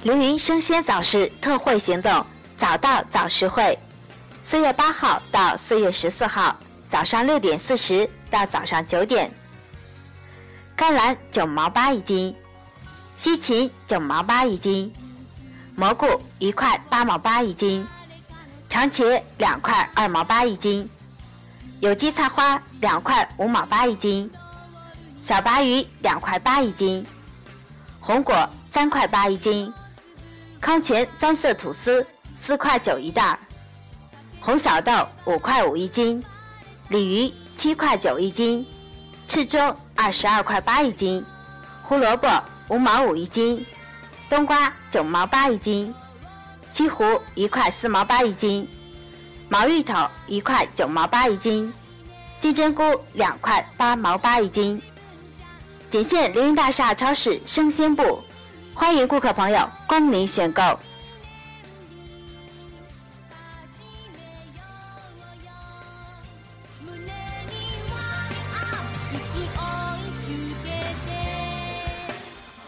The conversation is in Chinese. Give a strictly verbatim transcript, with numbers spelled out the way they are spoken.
凌云生鲜早市特惠行动，早到早实惠。四月八号到四月十四号，早上六点四十到早上九点。甘蓝九毛八一斤，西芹九毛八一斤，蘑菇一块八毛八一斤，长茄两块二毛八一斤，有机菜花两块五毛八一斤，小白鱼两块八一斤，红果三块八一斤，康泉三色吐司四块九一袋，红小豆五块五一斤，鲤鱼七块九一斤，赤粥二十二块八一斤，胡萝卜五毛五一斤，冬瓜九毛八一斤，西湖一块四毛八一斤，毛芋头一块九毛八一斤，金针菇两块八毛八一斤。仅限凌云大厦超市生鲜部，欢迎顾客朋友光临选购。